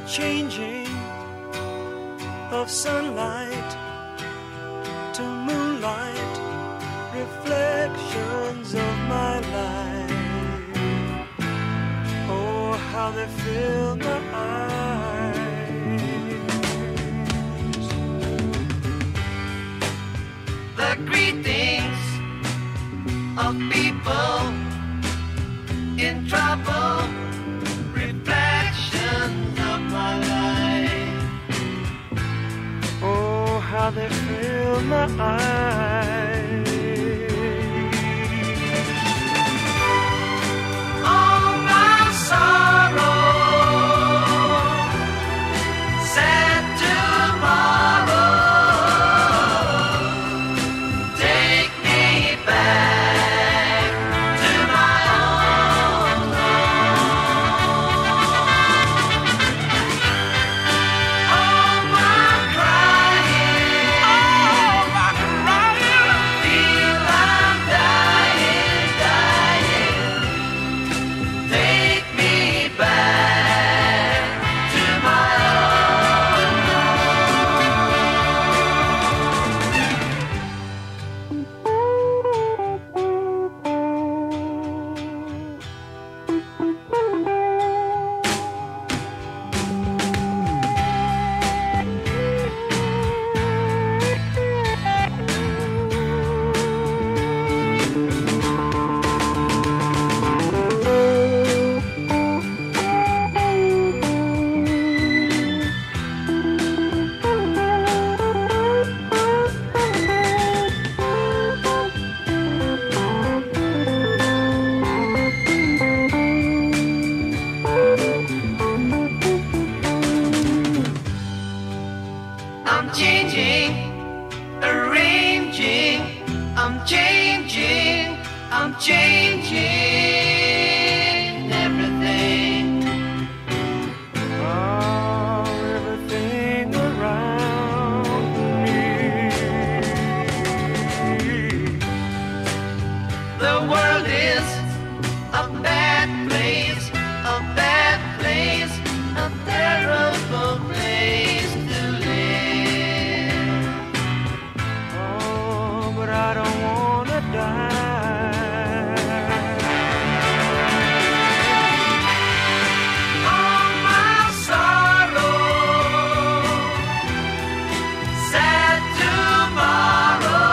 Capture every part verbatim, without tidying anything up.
changing of sunlight to moonlight, reflections of my life. Oh, how they fill my eyes. The greetings of people in trouble, reflections of my life. Oh, how they fill my eyes. All my sorrow, sad tomorrow, take me back to my own home. All my crying, all my crying, feel I'm dying, dying. Take me back to my own I'm changing, arranging, I'm changing, I'm changing everything. Oh, everything around me. The world is a bad place, a bad place, a terrible place to live. Oh, but I don't wanna die. All my sorrow, sad tomorrow,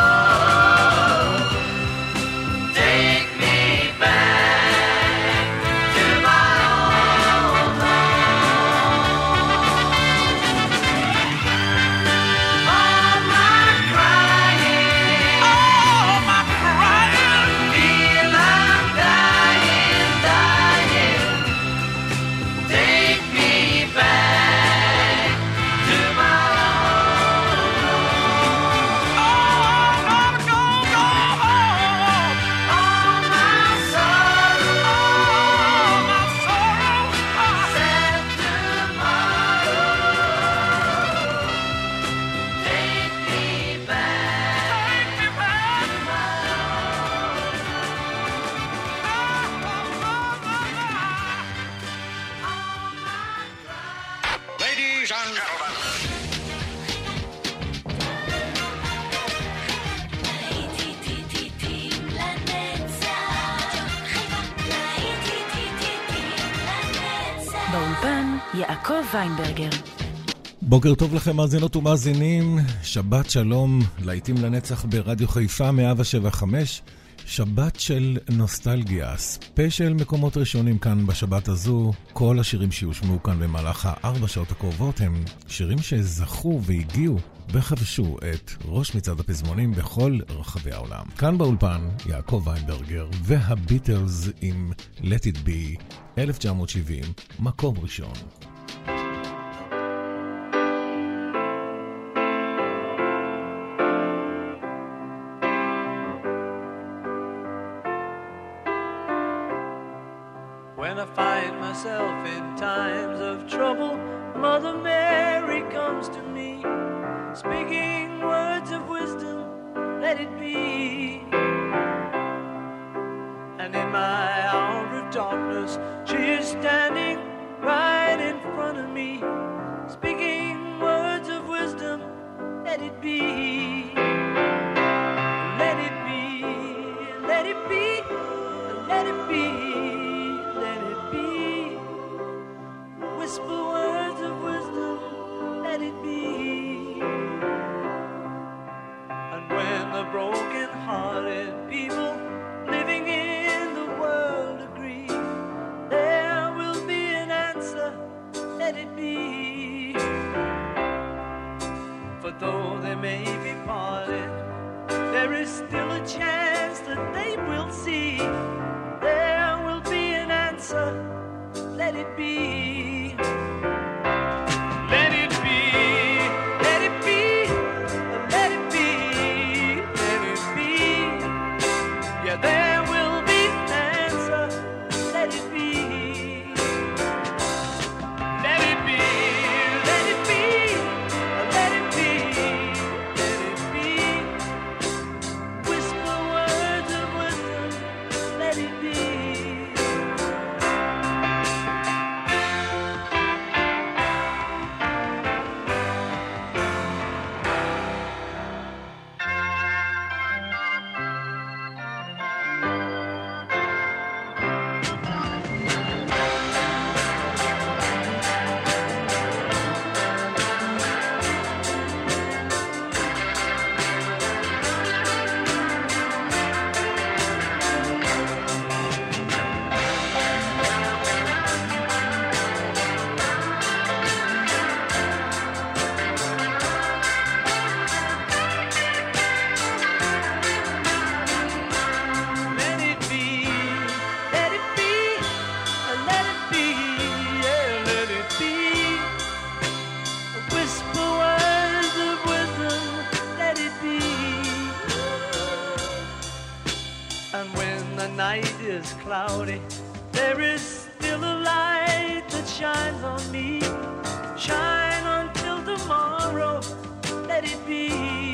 take me back to my own home. All my crying, all my crying, feel I'm dying, dying. Take me back to my own home. Oh, no, no, no, all my sorrow, all my sorrow, sad tomorrow, take me back, take me back to my own. Ladies and gentlemen. באולפן יעקב ויינברגר. בוקר טוב לכם מאזינות ומאזינים, שבת שלום, להיטים לנצח ברדיו חיפה מאה שבע חמש, שבת של נוסטלגיה, ספיישל מקומות ראשונים כאן בשבת הזו. כל השירים שיושמעו כאן במהלך הארבע שעות הקרובות הם שירים שזכו והגיעו וחבשו את ראש מצעד הפזמונים בכל רחבי העולם. כאן באולפן יעקב ויינברגר והביטלס עם Let It Be אלף תשע מאות שבעים, מקום ראשון. When I find myself in times of trouble, Mother Mary comes to me, speaking words of wisdom, let it be. And in my hour of darkness, she is standing right in front of me. me, speaking words of wisdom. Let it be, let it be, let it be, let it be, let it be. Whisper words of wisdom. Let it be. And when the broken-hearted people living in the world agree, there will be an answer. Let it be. For though they may be parted, there is still a chance that they will see. There will be an answer. Let it be. Let it be. Let it be. Let it be. Let it be. Yeah, there will be an answer. Let it be. Let it be. Let it be. Let it be. Let it be. Whisper words of wisdom. Let it be. Cloudy, there is still a light that shines on me. Shine until tomorrow, let it be.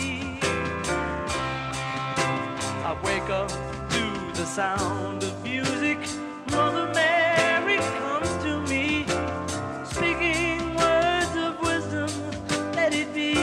I wake up to the sound of music. Mother Mary comes to me, speaking words of wisdom. Let it be.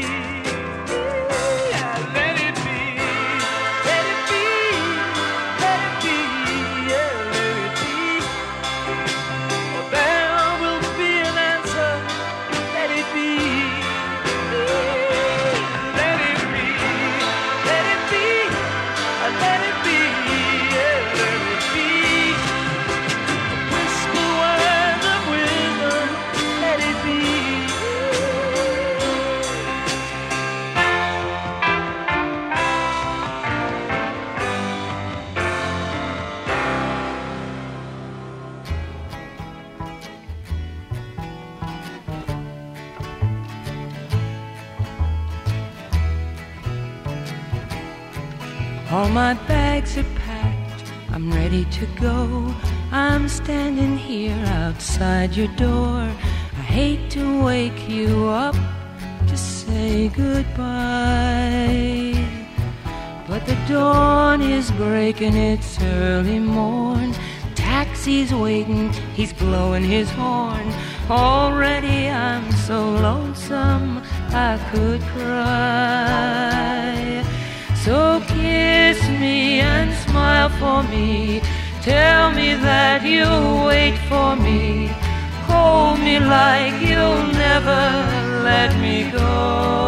All my bags are packed, I'm ready to go. I'm standing here outside your door. I hate to wake you up to say goodbye, but the dawn is breaking, it's early morn. Taxi's waiting, he's blowing his horn. Already I'm so lonesome I could cry. So kiss me and smile for me. Tell me that you'll wait for me. Hold me like you'll never let me go.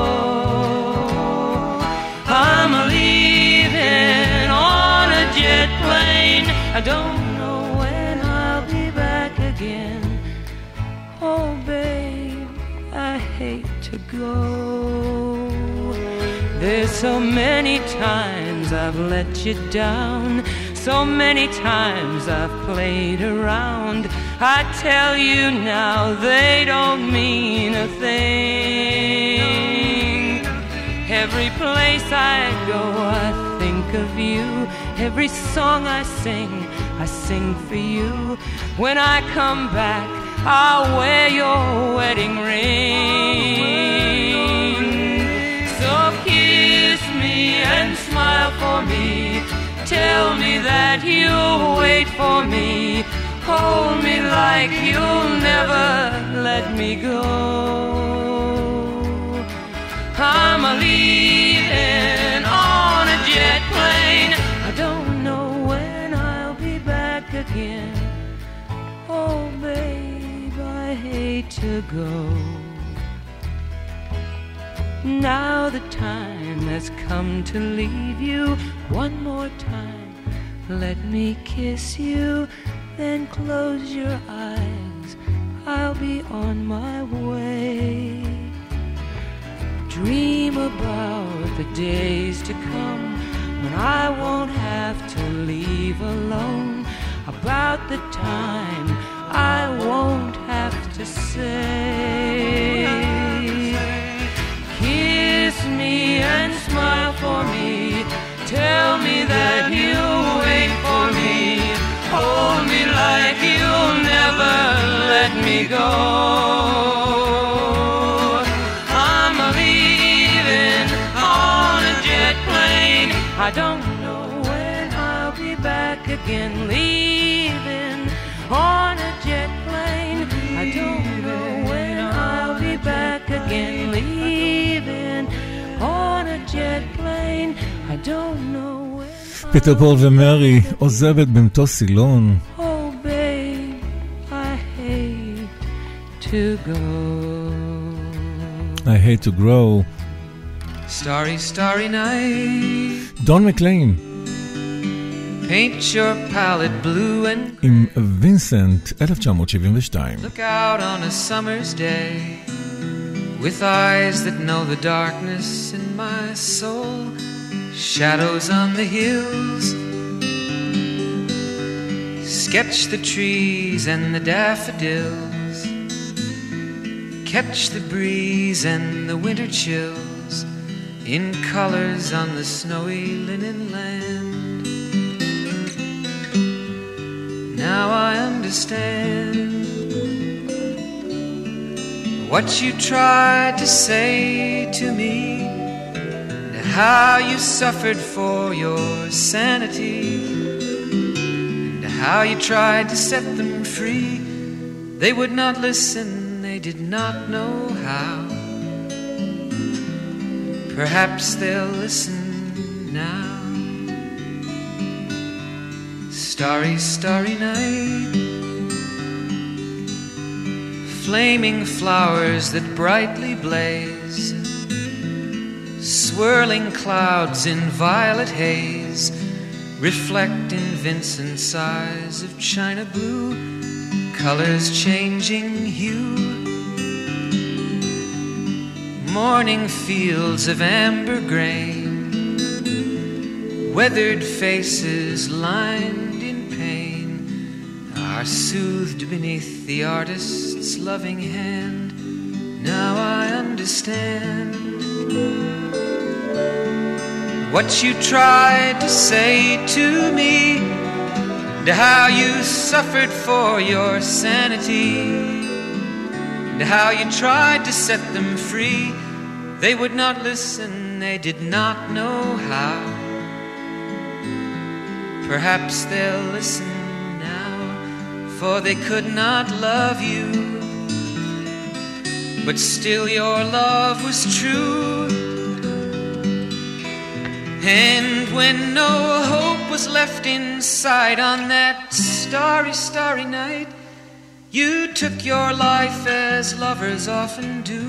I'm leaving on a jet plane. I don't know when I'll be back again. Oh babe, I hate to go. There's so many times I've let you down, so many times I've played around. I tell you now they don't mean a thing. Every place I go I think of you. Every song I sing, I sing for you. When I come back, I'll wear your wedding ring. So kiss me and smile for me. Tell me that you'll wait for me. hold me like you'll never let me go. I'm a leaving on a jet plane. I don't know when I'll be back again. Oh, babe, I hate to go. Now the time has come to leave you. One more time, let me kiss you. Then close your eyes, I'll be on my way. Dream about the days to come when I won't have to leave alone. About the time I won't have to say. Kiss me and smile for me. Tell me that you'll wait for me. Hold me like you'll never let me go. I'm leaving on a jet plane. I don't know when I'll be back again. Leaving on a jet plane. I don't know when I'll be back again. Leaving on a jet plane. I don't know when. פיטר פול ומרי עוזבת במטוס סילון. Oh babe, I hate to go. I hate to grow. Starry, starry night. דון מקליין. Paint your palette blue and עם וינסנט, אלף תשע מאות שבעים ושתיים. look out on a summer's day with eyes that know the darkness in my soul. Shadows on the hills. Sketch the trees and the daffodils. Catch the breeze and the winter chills in colors on the snowy linen land. Now I understand what you tried to say to me, and how you suffered for your sanity, and how you tried to set them free. They would not listen, they did not know how. Perhaps they'll listen now. Starry, starry night. Flaming flowers that brightly blaze. Swirling clouds in violet haze. Reflect in Vincent's eyes of china blue. Colors changing hue. Morning fields of amber grain. Weathered faces lined in pain are soothed beneath the artist's loving hand. Now I understand what you tried to say to me, and how you suffered for your sanity, and how you tried to set them free. They would not listen, they did not know how. Perhaps they'll listen now, for they could not love you, but still your love was true. And when no hope was left inside on that starry, starry night, you took your life as lovers often do.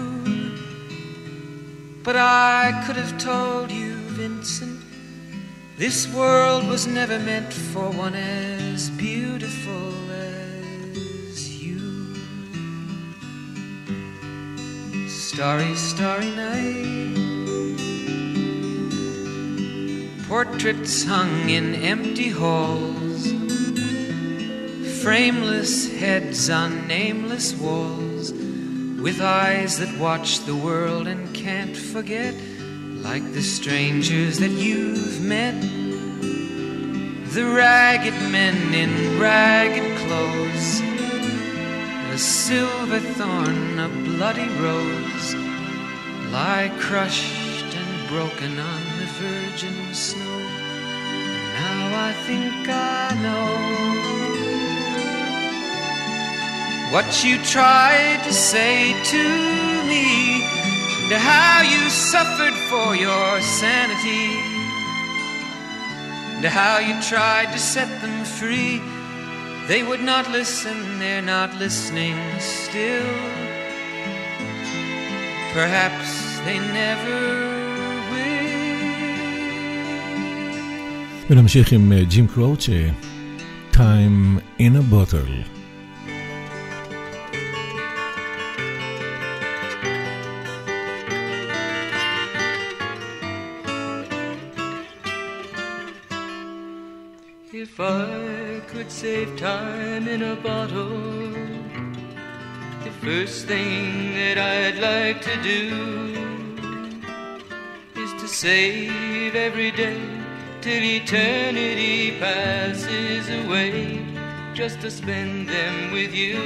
But I could have told you, Vincent, this world was never meant for one as beautiful as you. Starry, starry night. Portraits hung in empty halls. Frameless heads on nameless walls. With eyes that watch the world and can't forget. Like the strangers that you've met. The ragged men in ragged clothes. A silver thorn, a bloody rose, lie crushed and broken on the virgin snow. Now I think I know what you tried to say to me, and how you suffered for your sanity, and how you tried to set them free. They would not listen, they're not listening still. Perhaps they never will. ונמשיך עם ג'ים קרוץ', Time in a Bottle. If I could save time in a bottle, the first thing that I'd like to do is to save every day till eternity passes away, just to spend them with you.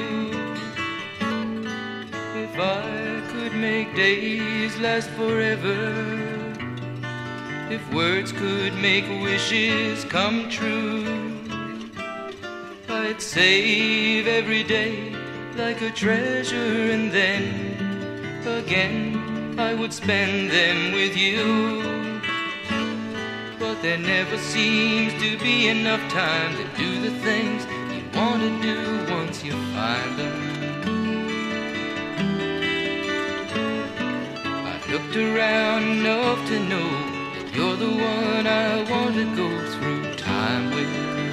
If I could make days last forever, if words could make wishes come true, I'd save every day like a treasure, and then again I would spend them with you. But there never seems to be enough time to do the things you want to do once you find them. I've looked around enough to know that you're the one I want to go through time with.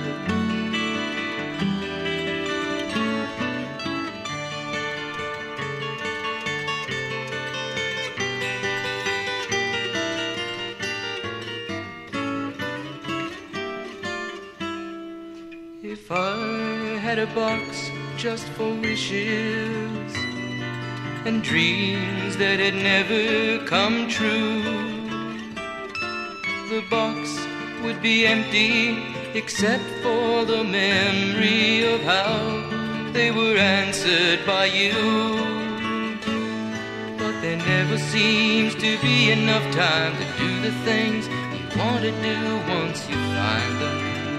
If I had a box just for wishes and dreams that had never come true, the box would be empty except for the memory of how they were answered by you. But there never seems to be enough time to do the things you want to do once you find them.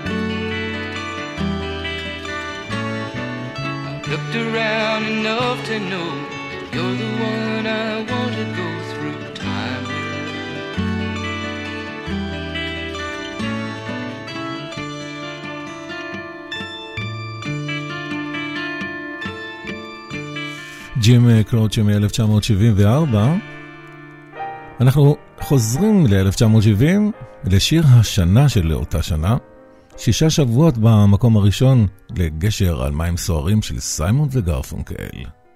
Looked around enough to know you're the one I want to go through time with. ג'ים קרוץ' מ-אלף תשע מאות שבעים וארבע. אנחנו חוזרים ל-אלף תשע מאות שבעים, לשיר השנה של אותה שנה. שישה שבועות במקום הראשון לגשר על מים סוערים של סיימון וגרפונקל.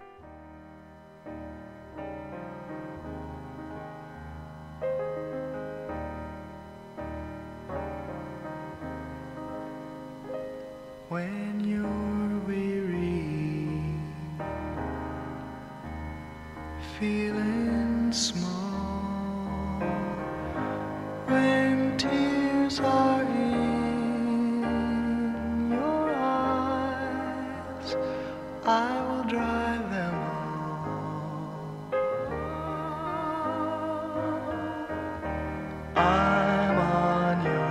When you're weary, feeling small, when tears are I will dry them all. I'm on your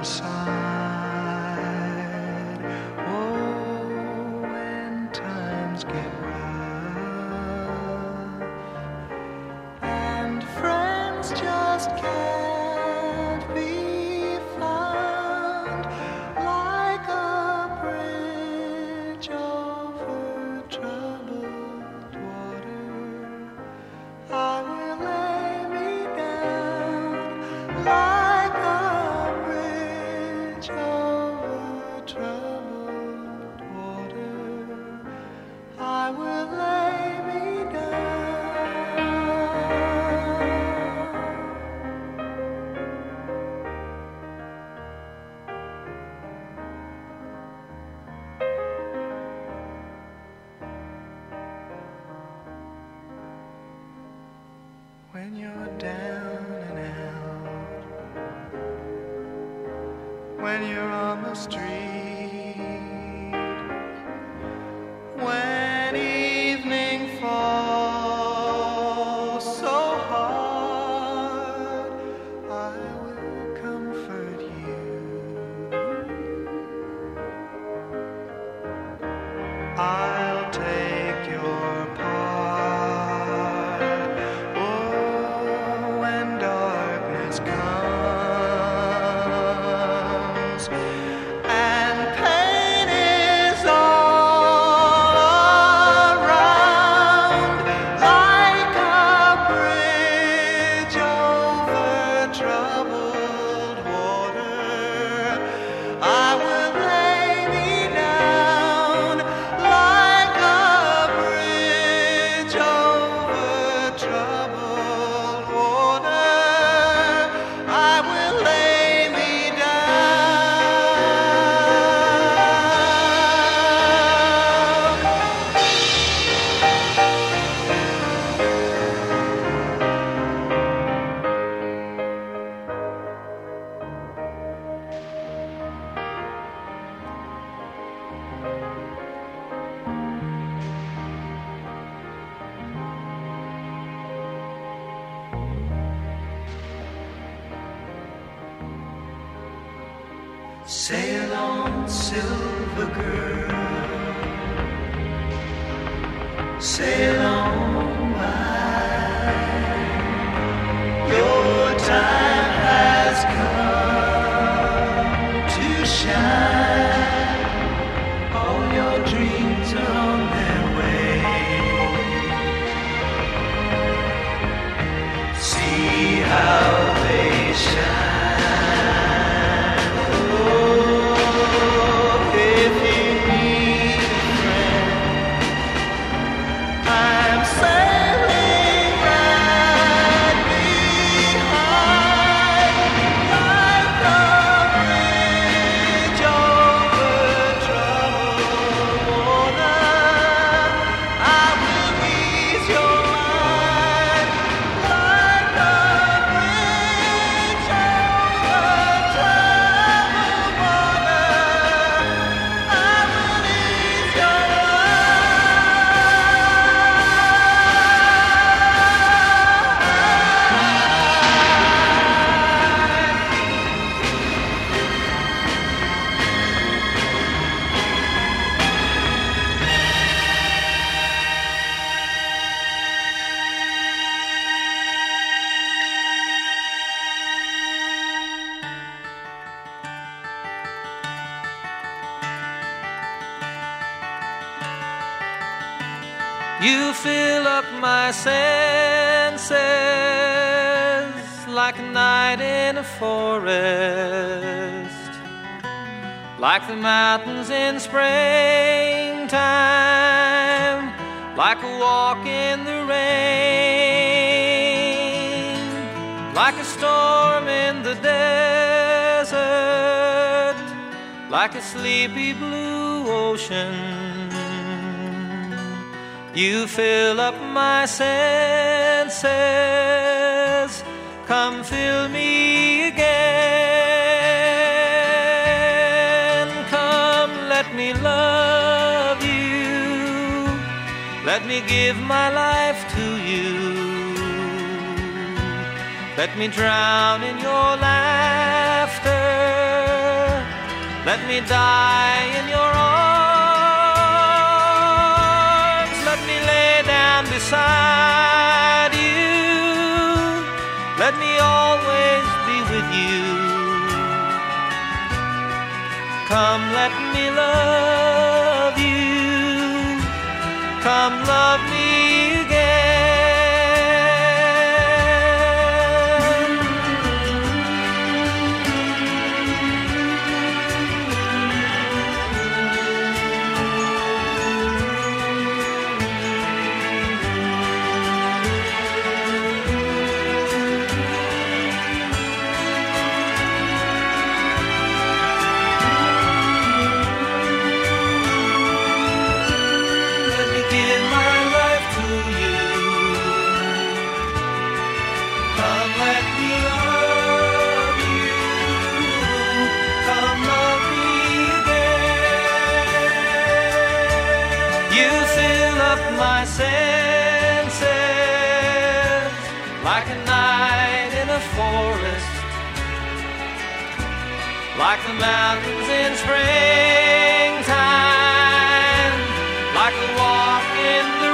side. Oh, when times get rough and friends just can't be found, like a bridge over troubled water, I will lay me down like a bridge over troubled water. I will lay me down. When you're down and out, when you're on the street, when evening falls so hard, I will comfort you. I'll take your Sail on, silver girl, sail on by. Your time has come to shine. All your dreams are on their way. See how they shine. You fill up my senses like a night in a forest, like the mountains in springtime, like a walk in the rain, like a storm in the desert, like a sleepy blue ocean. You fill up my senses, come fill me again. Come, let me love you, let me give my life to you. Let me drown in your laughter, let me die in your arms. Let me lay down beside you, let me always be with you. Come, let me love you, come love me again. My senses like a night in a forest, like the mountains in springtime, like a walk in the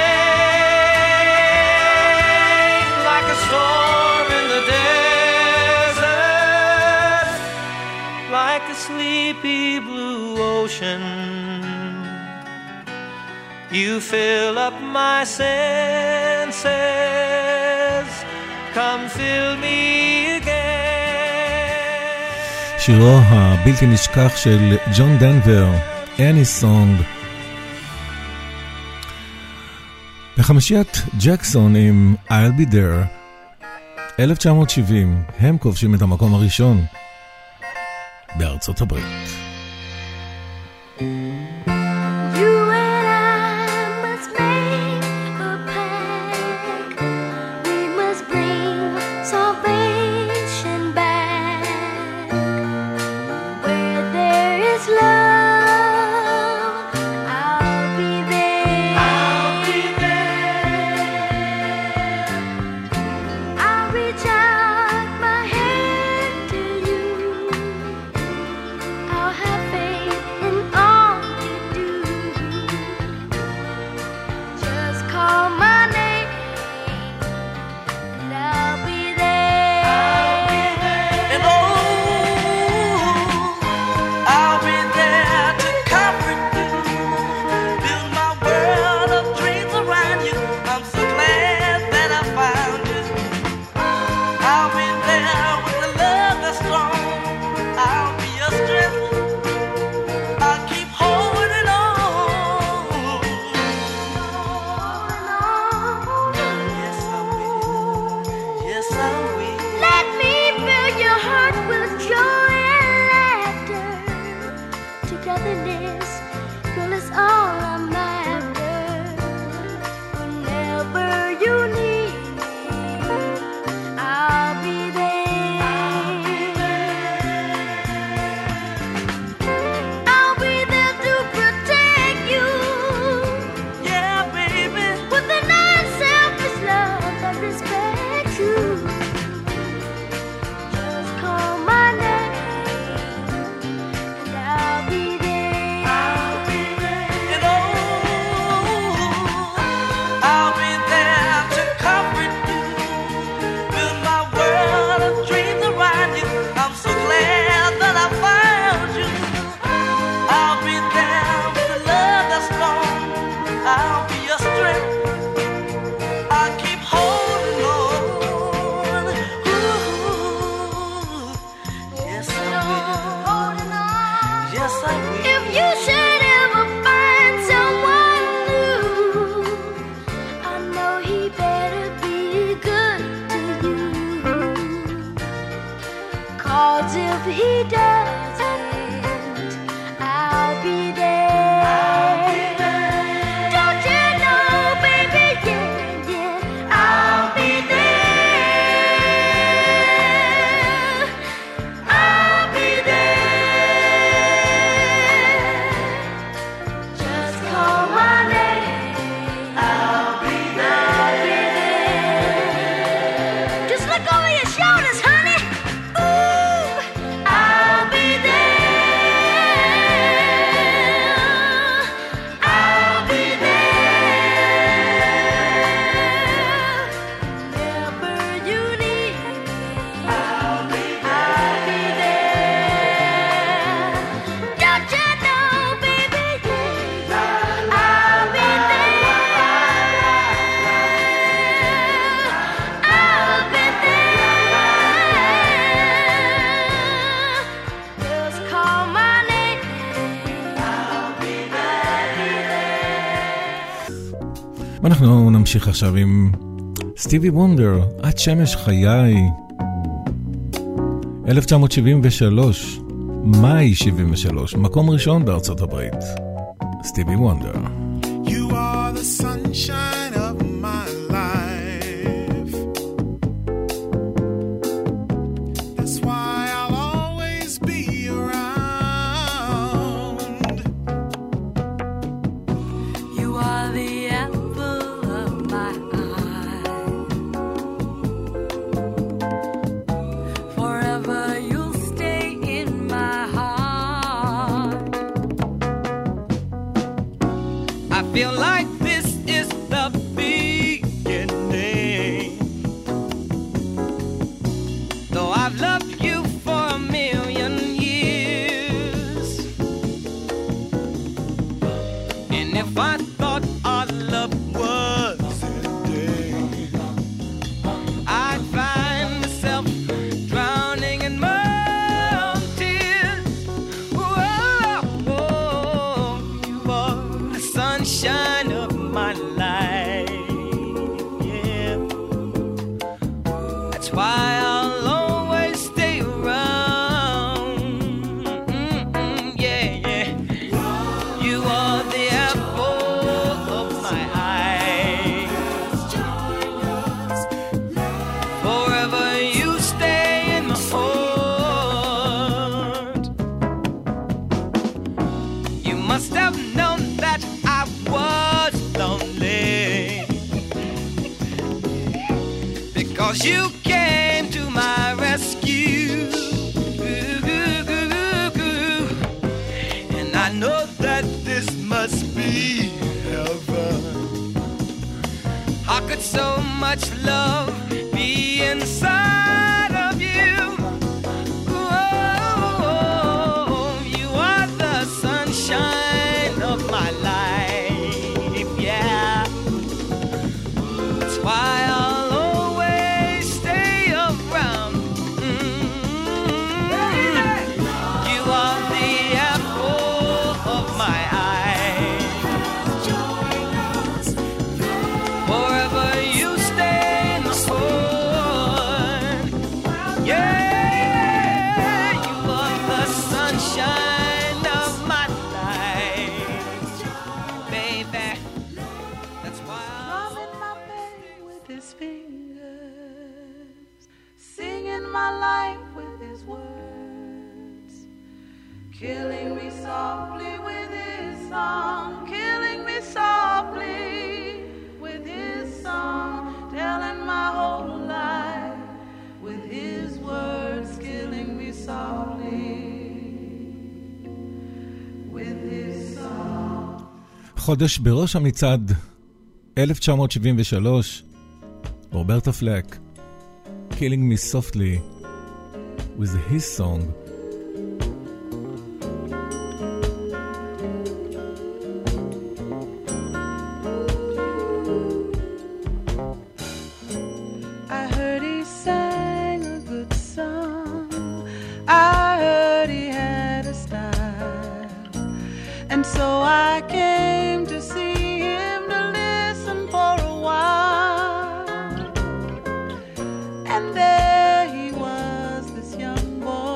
rain, like a storm in the desert, like a sleepy blue ocean. You fill up my senses, come fill me again. שירו הבלתי נשכח של ג'ון דנבר, Any Song. בחמישיית ג'קסון עם I'll Be There, אלף תשע מאות שבעים, הם כובשים את המקום הראשון בארצות הברית. 'cause if he doesn't, I'll be there. I'll be there. Don't you know, baby, yeah, yeah, I'll be there. I'll be there. Just call my name. I'll be there. I'll be there. Just look over your shoulders, honey. Ooh, I'll be there. I'll be there. Whenever you need me, I'll be there. I'll be there. Don't you know, baby, yeah, I'll be there. I'll be there. Just call my name. I'll be there. ואנחנו נמשיך עכשיו עם סטיבי וונדר, את שמש חיי. אלף תשע מאות שבעים ושלוש, מאי שבעים ושלוש, מקום ראשון בארצות הברית. סטיבי וונדר. You are the sunshine of my life. That's why I'll always be around. You are the apple of my eye. Forever you'll stay in my heart. I feel like this is the beginning. Though I've loved you for a million years. And if I thought our love was ending, I'd find myself drowning in my own tears. Whoa, whoa, you are the sunshine of my life. Yeah, that's why I'll always stay around. Mm-mm, yeah, yeah. You are the apple of my eye. Forever you stay in my heart. You must have known that I was lonely, because you came to my rescue. And I know that this must be heaven. How could so much love be inside of you? Oh, you are the sunshine of my life, yeah. That's why I'll always stay around. Mm. You are the apple of my eye. Forever you stay in my heart. Yeah, you are the sunshine of my life, baby. That's why I'll Drumming my baby with his fingers, singing my life with his words, killing me softly with his song, killing me softly with his song, telling my whole life with his words, killing me softly with his song. חודש בראש המצעד, אלף תשע מאות שבעים ושלוש, רוברטה פלק, Killing Me Softly with his song. I heard he sang a good song. I heard he had a style. And so I came to see him to listen for a while. And there he was, this young boy,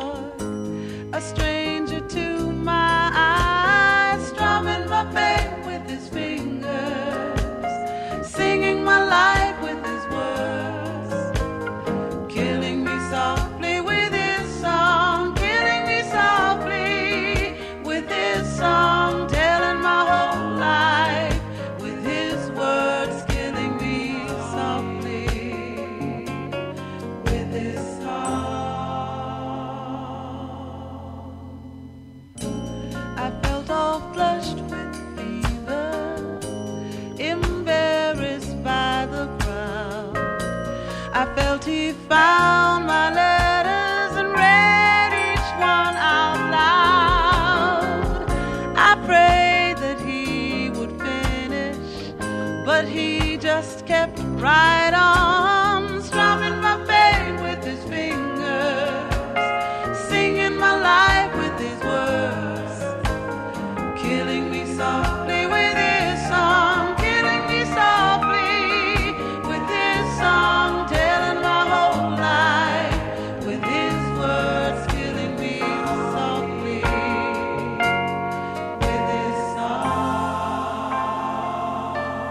felt he found my letters and read each one out loud. I prayed that he would finish, but he just kept right on, strumming my pain with his fingers, singing my life with his words, killing me softly with his song, killing me softly with his song, telling my whole life with his words, killing me softly with his song.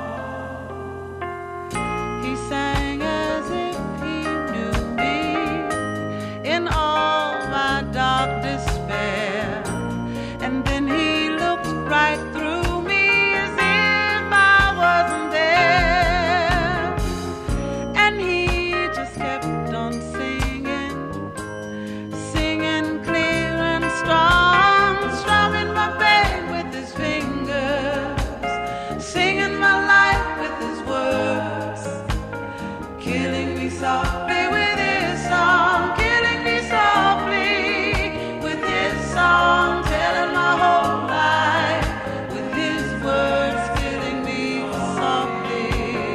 He sang as if he knew me in all my dark despair, and then he looked right through me as if I wasn't there, and he just kept on singing, singing clear and strong, strumming my pain with his fingers, singing my life with his words, killing me softly with his song, killing me softly with his song, telling my whole life with his words, killing me softly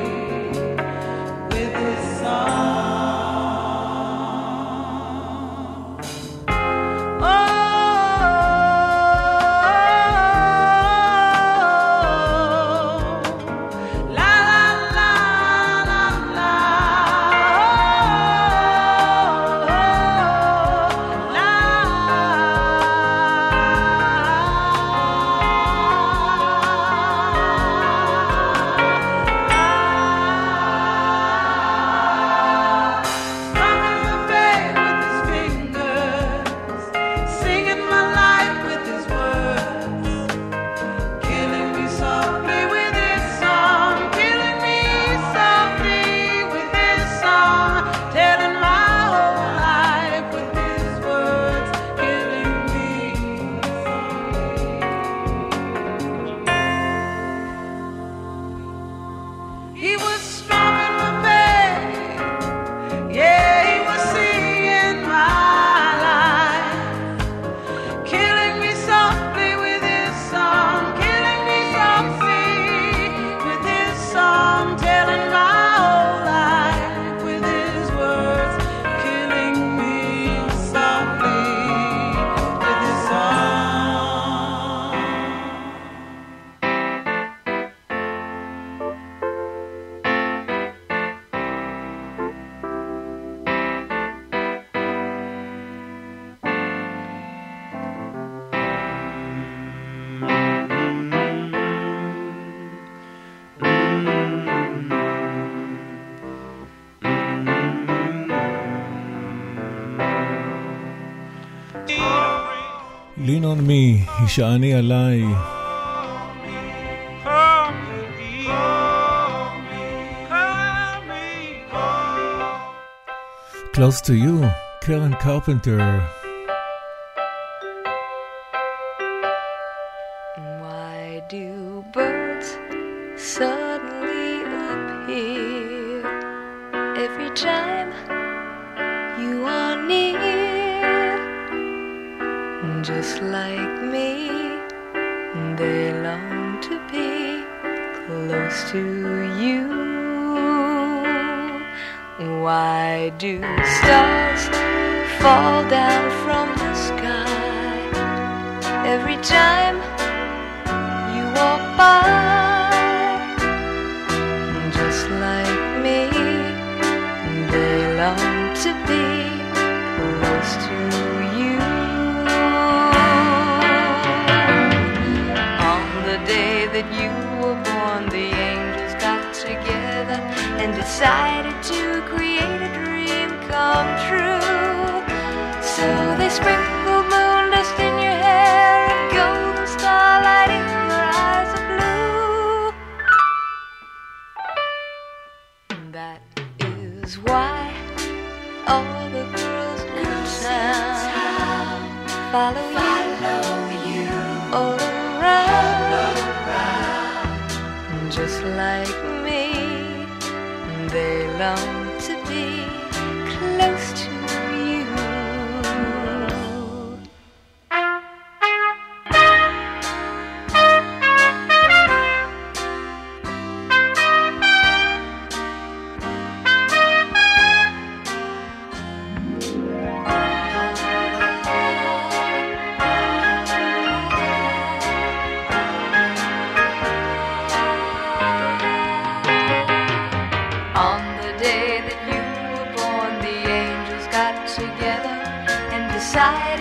with his song. Oh, la la la la la, oh, la. Strumming my pain with his fingers, singing my life with his words, killing me softly with his song, killing me softly with his song, telling my whole life with his words, killing me softly. He was strumming my pain, yeah, he was singing my life, killing me softly with his song, killing me softly with his song, telling my whole life with his words, killing me softly with his song. Lean on me, הישעני עליי. Close to you, Karen Carpenter. Why do birds suddenly appear every time you are near? Just like me, they long to be close to you. Why do stars fall down from the sky every time you walk by? Just like me, they long to be close to you. On the day that you were born, the angels got together and decided to create a dream come true. So they sprinkled moon dust in your hair and golden starlight in your eyes of blue. That is why all the girls in town follow, follow you, you all around. Just like me, they long to be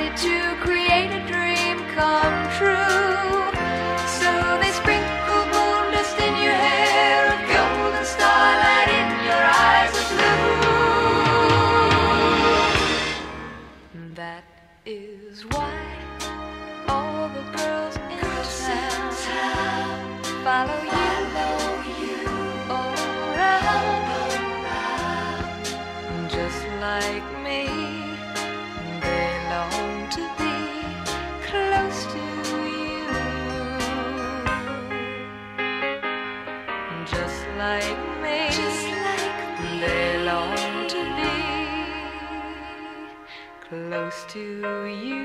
to create a dream come true. So they sprinkle moon dust in your hair, a golden starlight in your eyes of blue. That is why all the girls in town follow you. Like me, they long to be close to you. Just like me, just like me, they long to be close to you.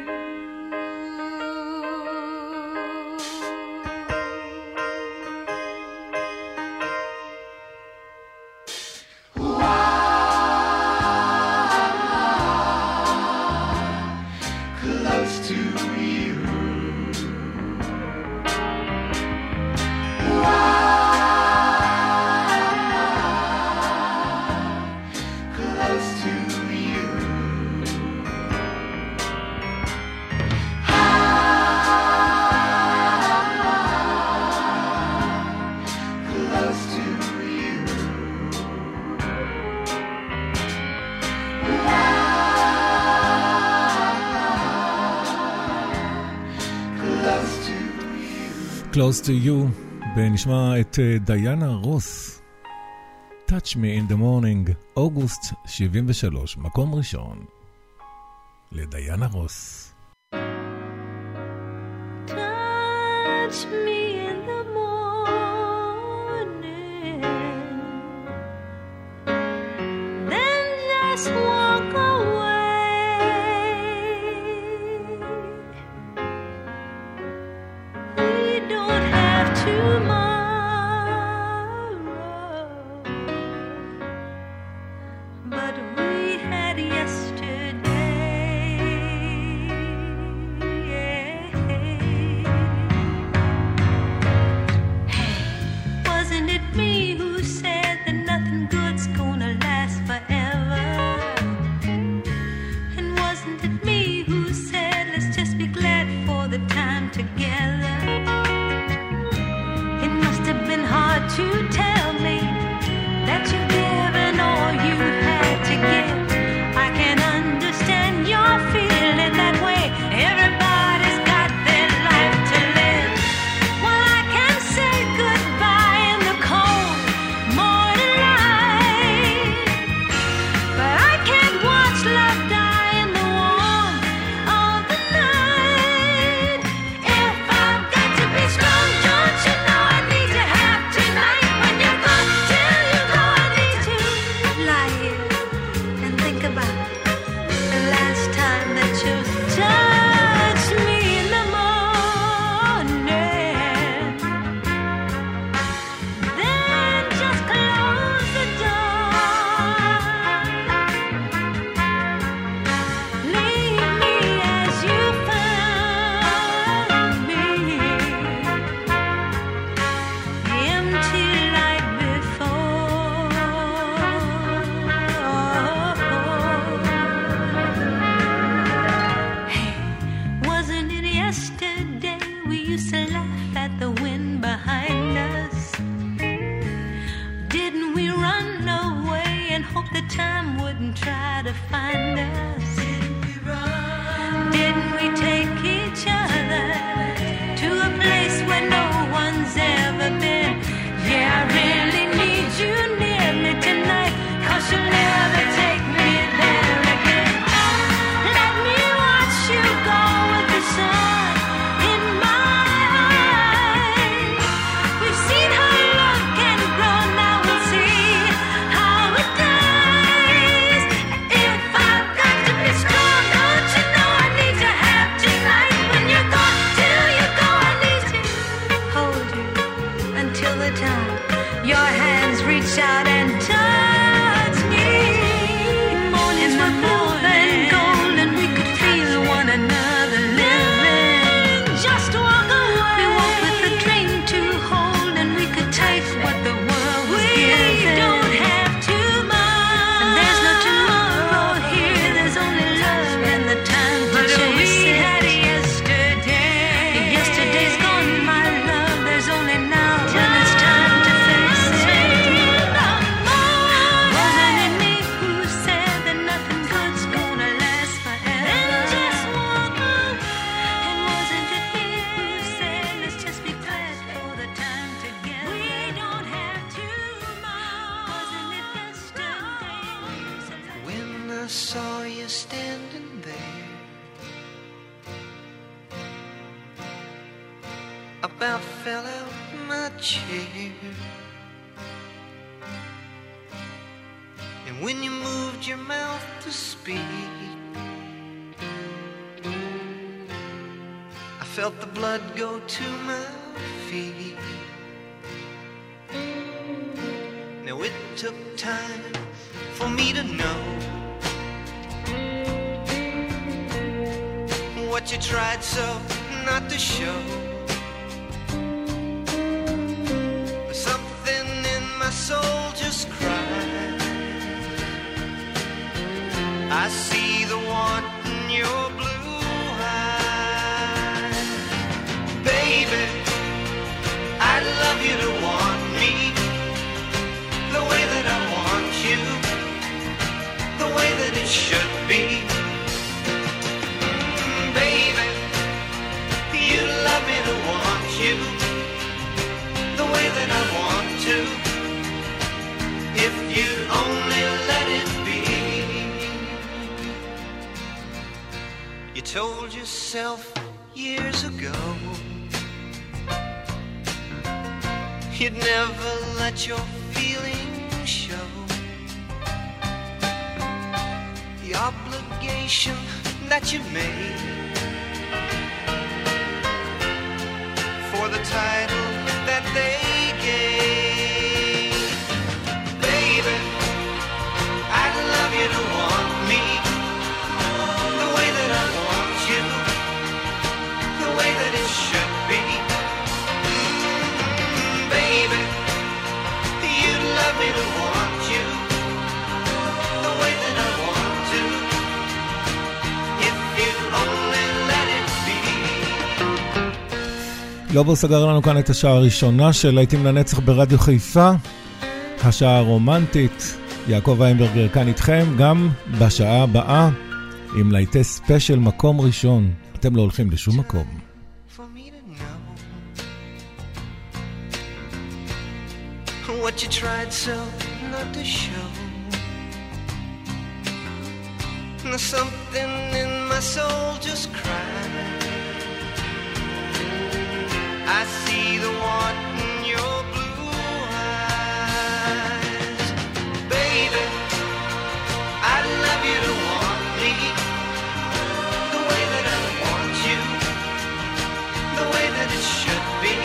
Close to you, ונשמע את דיינה רוס, Touch Me in the Morning, אוגוסט שבעים ושלוש, מקום ראשון, לדיינה רוס. Touch me in the morning, then just walk away. Tomorrow, but we had yesterday. Hey, wasn't it me who said that nothing good's gonna last forever? And wasn't it me who said let's just be glad for the time together? And saw you standing there, about fell out my chair. And when you moved your mouth to speak, I felt the blood go to my feet. Now it took time for me to know what you tried so not to show. But something in my soul just cried. I see the want in your blue eyes. Baby, I'd love you to want me the way that I want you, the way that it should be. Mm, baby, you'd love me to want you the way that I want to, if you'd only let it be. You told yourself years ago you'd never let your feelings show. The obligation that you made for the title that they gave. Baby, I'd love you to want me the way that I want you, the way that it should be. Mm, baby, you'd love me to want you the way that I want to, if you'd only let it be. לובו סגר לנו כאן את השעה הראשונה של להיטים לנצח ברדיו חיפה, השעה הרומנטית. יעקב ויינברגר כאן איתכם גם בשעה הבאה עם להיטי ספיישל מקום ראשון. אתם לא הולכים לשום מקום. What you tried so not to show. Now something in my soul just cried. I see the want in your blue eyes. Baby, I'd love you to want me the way that I want you, the way that it should be.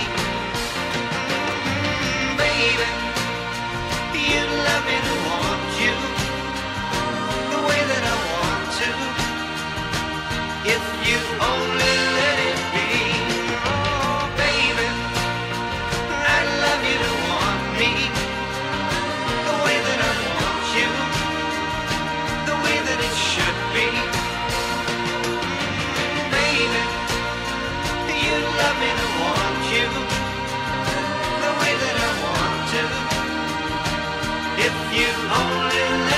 Mm, baby, you'd love me to want you the way that I want to, if you only let it be. Oh, baby, I'd love you to want me the way that I want you, the way that it should be. Mm, baby, you'd love me to want you the way that I want to, if you only